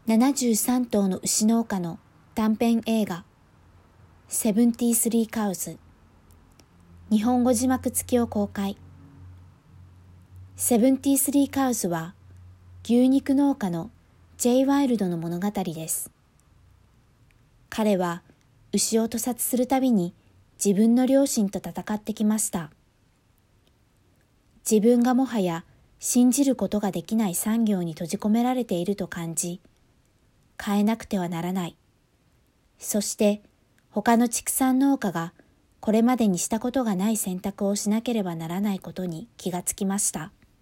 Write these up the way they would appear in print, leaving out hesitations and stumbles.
73頭の牛農家の短編映画73カウズ、日本語字幕付きを公開。73カウズは牛肉農家の J. ワイルドの物語です。彼は牛を屠殺するたびに自分の良心と戦ってきました。自分がもはや信じることができない産業に閉じ込められていると感じ、変えなくてはならない。そして他の畜産農家がこれまでにしたことがない選択をしなければならないことに気がつきました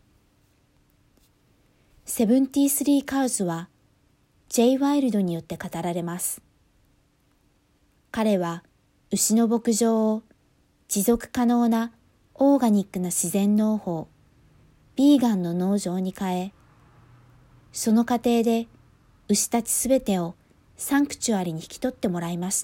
。73カウズは J. ワイルドによって語られます。彼は牛の牧場を持続可能なオーガニックな自然農法、ビーガンの農場に変え、その過程で牛たちすべてをサンクチュアリに引き取ってもらいました。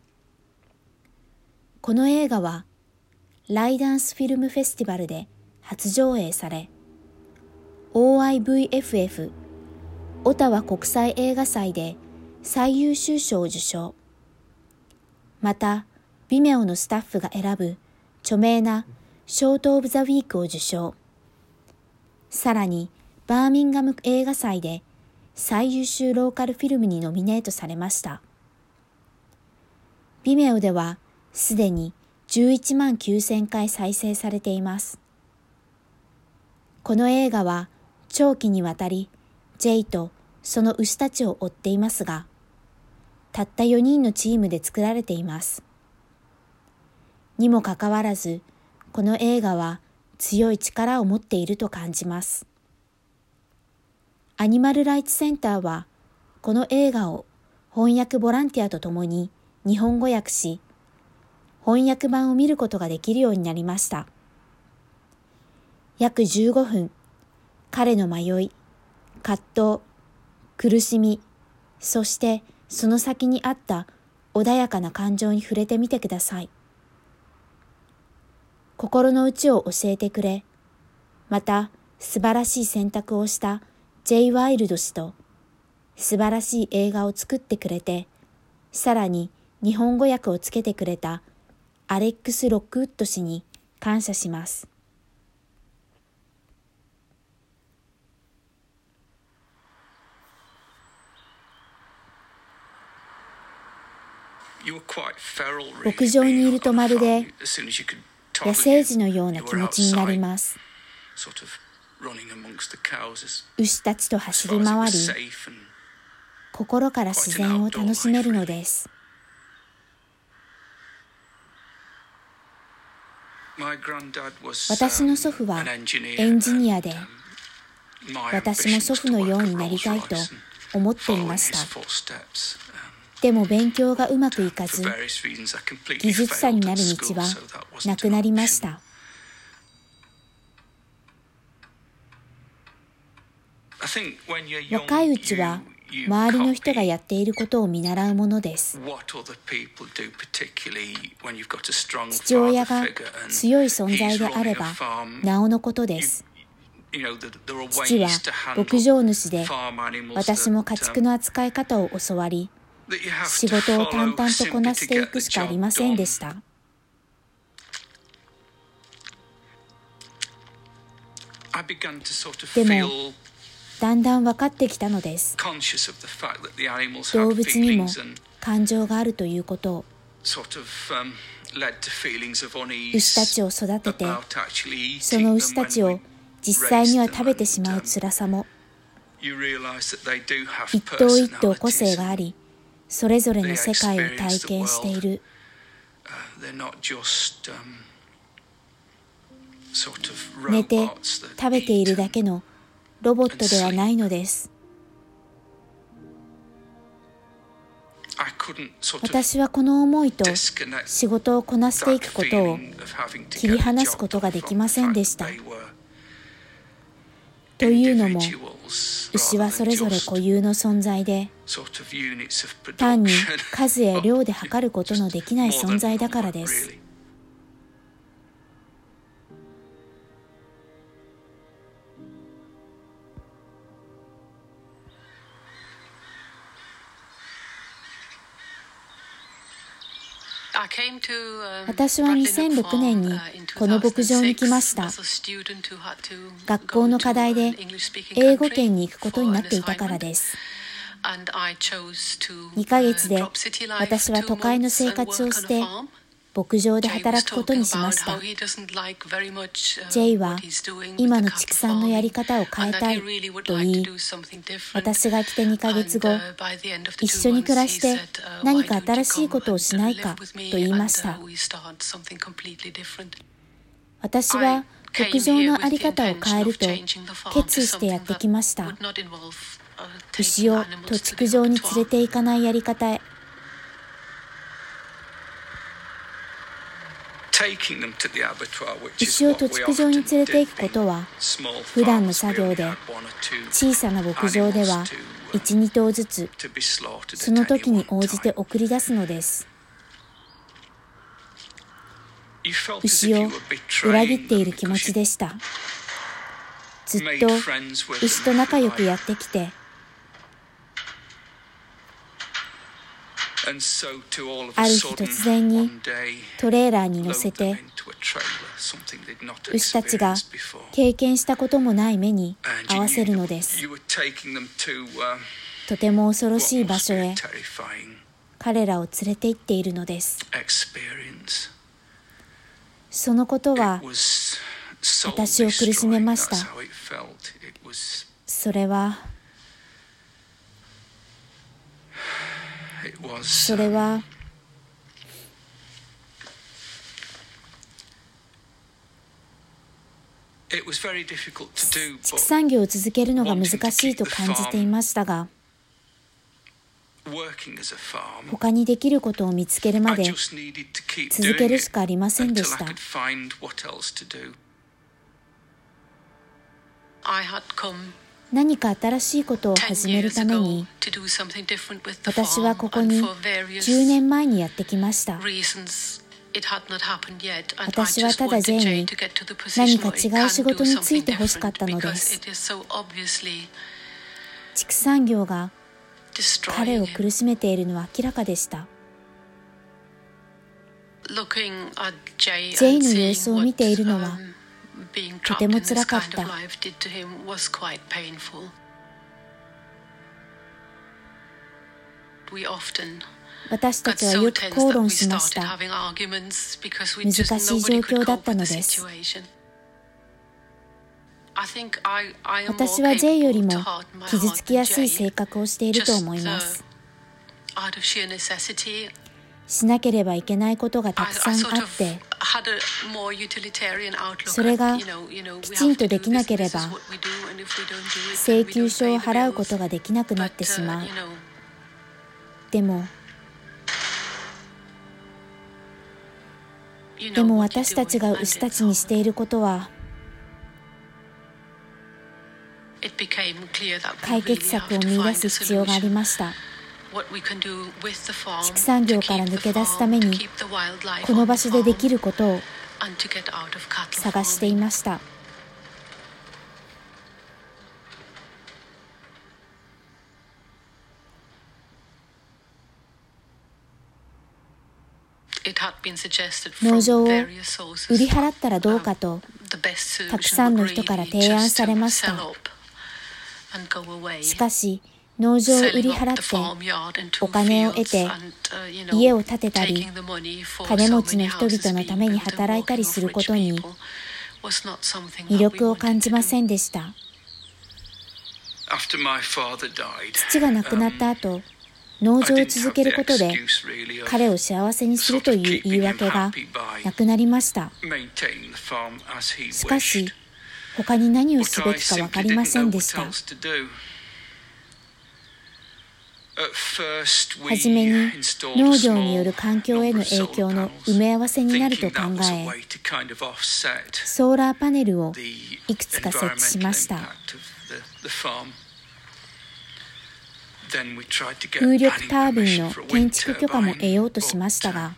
この映画はライダンスフィルムフェスティバルで初上映され、OIVFF オタワ国際映画祭で最優秀賞を受賞。また、ビメオのスタッフが選ぶ著名なショート・オブ・ザ・ウィークを受賞。さらに、バーミンガム映画祭で最優秀ローカルフィルムにノミネートされました。ビメオではすでに11万9000回再生されています。この映画は長期にわたり J とその牛たちを追っていますが、たった4人のチームで作られています。にもかかわらず、この映画は強い力を持っていると感じます。アニマルライツセンターは、この映画を翻訳ボランティアとともに日本語訳し、翻訳版を見ることができるようになりました。約15分、彼の迷い、葛藤、苦しみ、そしてその先にあった穏やかな感情に触れてみてください。心の内を教えてくれ、また素晴らしい選択をした J. ワイルド氏と素晴らしい映画を作ってくれて、さらに日本語訳をつけてくれたアレックス・ロックウッド氏に感謝します。牧場にいるとまるで野生児のような気持ちになります。牛たちと走り回り、心から自然を楽しめるのです。私の祖父はエンジニアで、私も祖父のようになりたいと思っていました。でも勉強がうまくいかず、技術者になる道はなくなりました。若いうちは周りの人がやっていることを見習うものです。父親が強い存在であればなおのことです。父は牧場主で、私も家畜の扱い方を教わり、仕事を淡々とこなしていくしかありませんでした。でも、だんだん分かってきたのです。動物にも感情があるということを。牛たちを育てて、その牛たちを実際には食べてしまう辛さも、一頭一頭個性があり、それぞれの世界を体験している。寝て食べているだけのロボットではないのです。私はこの思いと仕事をこなしていくことを切り離すことができませんでした。というのも、牛はそれぞれ固有の存在で、単に数や量で測ることのできない存在だからです。 私は2006年にこの牧場に来ました。学校の課題で英語圏に行くことになっていたからです。2ヶ月で私は都会の生活をして牧場で働くことにしました。J は今の畜産のやり方を変えたいと言い、私が来て2ヶ月後、一緒に暮らして何か新しいことをしないかと言いました。私は牧場の在り方を変えると決意してやってきました。牛を屠畜場に連れて行かないやり方へ。牛を屠畜場に連れて行くことは、普段の作業で小さな牧場では 1,2 頭ずつその時に応じて送り出すのです。牛を裏切っている気持ちでした。ずっと牛と仲良くやってきて、ある日突然にトレーラーに乗せて牛たちが経験したこともない目に合わせるのです。とても恐ろしい場所へ彼らを連れて行っているのです。そのことは私を苦しめました。それは畜産業を続けるのが難しいと感じていましたが、他にできることを見つけるまで続けるしかありませんでした。何か新しいことを始めるために、私はここに10年前にやってきました。私はただ J に何か違う仕事に就いてほしかったのです。畜産業が彼を苦しめているのは明らかでした。J の様子を見ているのはとてもつらかった。私たちはよく口論しました。難しい状況だったのです。私は J よりも傷つきやすい性格をしていると思います。しなければいけないことがたくさんあって、それがきちんとできなければ請求書を払うことができなくなってしまう。でも私たちが牛たちにしていることは、解決策を見出す必要がありました。畜産業から抜け出すためにこの場所でできることを探していました。農場を売り払ったらどうかとたくさんの人から提案されました。しかし農場を売り払ってお金を得て家を建てたり金持ちの人々のために働いたりすることに魅力を感じませんでした。父が亡くなった後、農場を続けることで彼を幸せにするという言い訳がなくなりました。しかし他に何をすべきか分かりませんでした。はじめに農業による環境への影響の埋め合わせになると考え、ソーラーパネルをいくつか設置しました。風力タービンの建築許可も得ようとしましたが、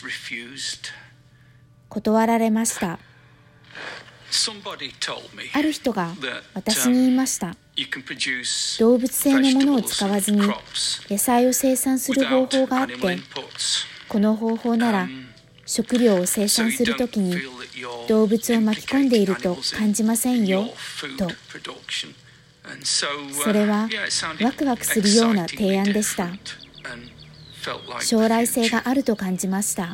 断られました。ある人が私に言いました。動物性のものを使わずに野菜を生産する方法があって、 この方法なら食料を生産するときに動物を巻き込んでいると感じませんよと。それはワクワクするような提案でした。将来性があると感じました。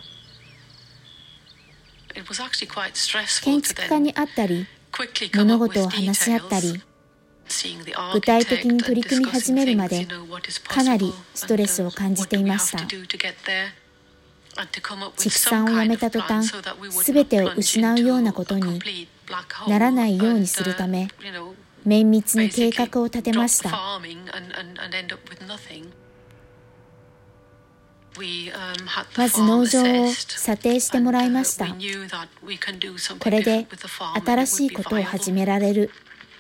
建築家に会ったり、物事を話し合ったり、具体的に取り組み始めるまでかなりストレスを感じていました。畜産をやめた途端、すべてを失うようなことにならないようにするため、綿密に計画を立てました。まず農場を査定してもらいました。これで新しいことを始められる。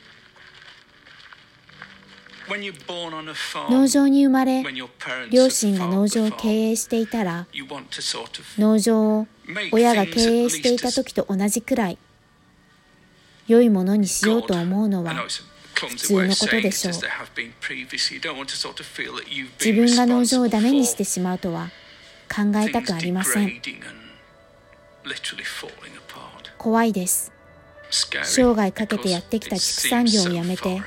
農場に生まれ、両親が農場を経営していたら、農場を親が経営していた時と同じくらい良いものにしようと思うのは普通のことでしょう。自分が農場をダメにしてしまうとは考えたくありません。怖いです。生涯かけてやってきた畜産業をやめて、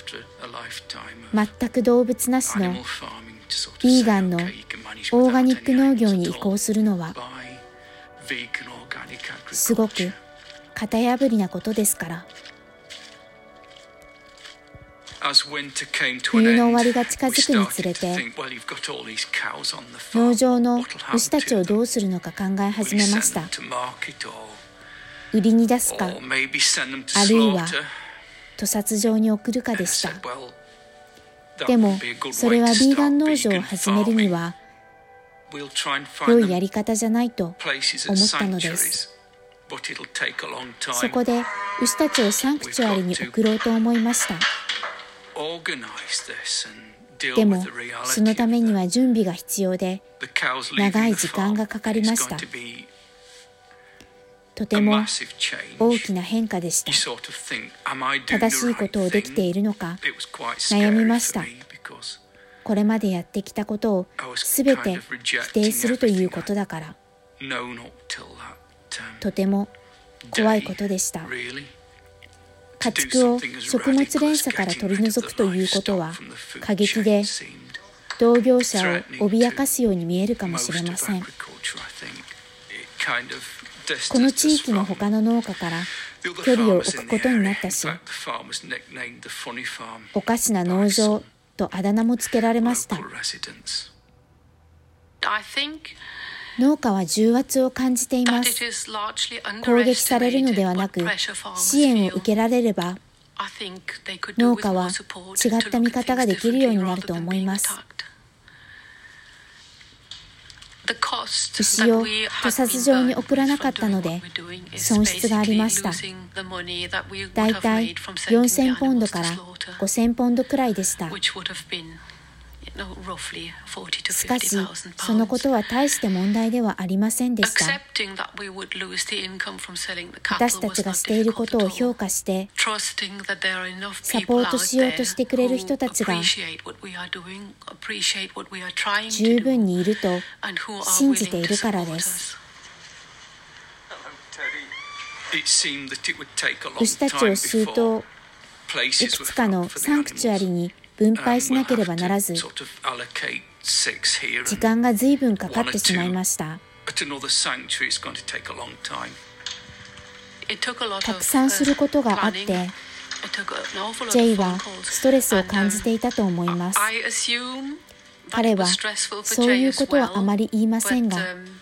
全く動物なしのビーガンのオーガニック農業に移行するのはすごく型破りなことですから。冬の終わりが近づくにつれて、農場の牛たちをどうするのか考え始めました。売りに出すか、あるいは屠殺場に送るかでした。でもそれはビーガン農場を始めるには良いやり方じゃないと思ったのです。そこで牛たちをサンクチュアリに送ろうと思いました。でもそのためには準備が必要で長い時間がかかりました。とても大きな変化でした。正しいことをできているのか悩みました。これまでやってきたことをすべて否定するということだから。とても怖いことでした。家畜を食物連鎖から取り除くということは過激で同業者を脅かすように見えるかもしれません。この地域の他の農家から距離を置くことになったし、おかしな農場とあだ名もつけられました。農家は重圧を感じています。攻撃されるのではなく、支援を受けられれば、農家は違った見方ができるようになると思います。牛を屠殺場に送らなかったので損失がありました。だいたい4000ポンドから5000ポンドくらいでした。しかしそのことは大して問題ではありませんでした。私たちがしていることを評価してサポートしようとしてくれる人たちが十分にいると信じているからです。牛たちを数頭いくつかのサンクチュアリに分配しなければならず、時間が随分かかってしまいました。たくさんすることがあって、ジェイはストレスを感じていたと思います。彼はそういうことはあまり言いませんが、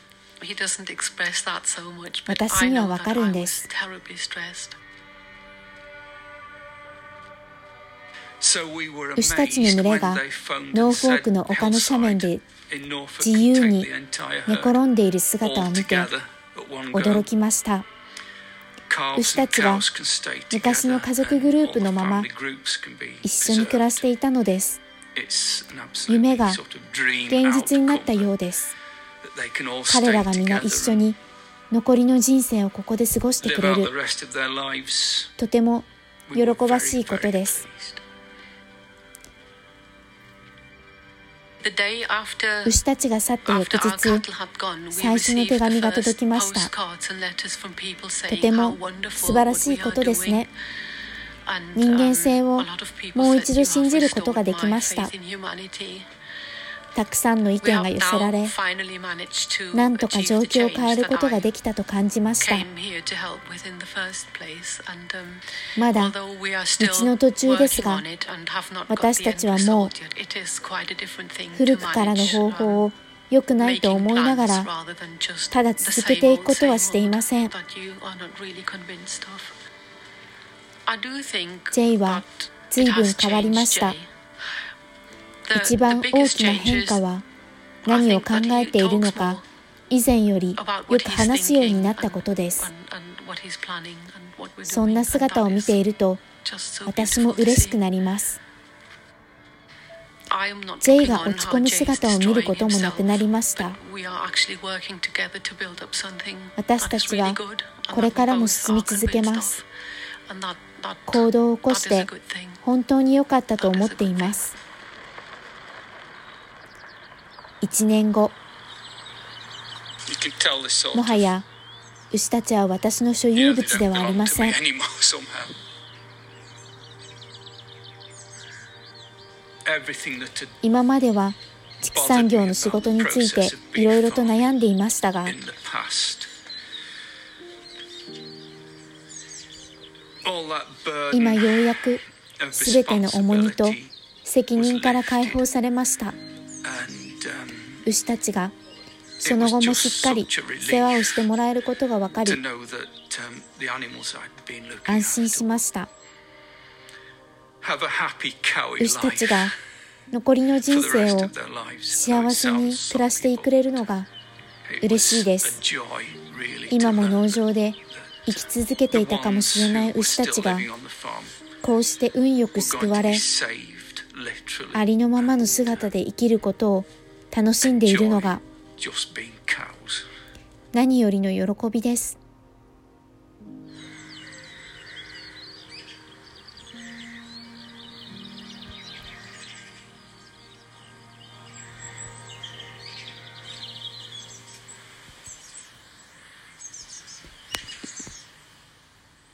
私にはわかるんです。牛たちの群れがノーフォークの丘の斜面で自由に寝転んでいる姿を見て驚きました。牛たちは昔の家族グループのまま一緒に暮らしていたのです。夢が現実になったようです。彼らが皆一緒に残りの人生をここで過ごしてくれる。とても喜ばしいことです。 牛たちが去った翌日、最初の手紙が届きました。とても素晴らしいことですね。人間性をもう一度信じることができました。たくさんの意見が寄せられ、なんとか状況を変えることができたと感じました。まだ道の途中ですが、私たちはもう古くからの方法を良くないと思いながら、ただ続けていくことはしていません。J は随分変わりました。一番大きな変化は、何を考えているのか以前よりよく話すようになったことです。そんな姿を見ていると、私も嬉しくなります。J が落ち込む姿を見ることもなくなりました。私たちはこれからも進み続けます。行動を起こして本当に良かったと思っています。1年後、もはや牛たちは私の所有物ではありません。今までは畜産業の仕事についていろいろと悩んでいましたが、今ようやくすべての重荷と責任から解放されました。牛たちがその後もしっかり世話をしてもらえることが分かり、安心しました。牛たちが残りの人生を幸せに暮らしてくれるのが嬉しいです。今も農場で生き続けていたかもしれない牛たちがこうして運よく救われ、ありのままの姿で生きることを楽しんでいるのが何よりの喜びです。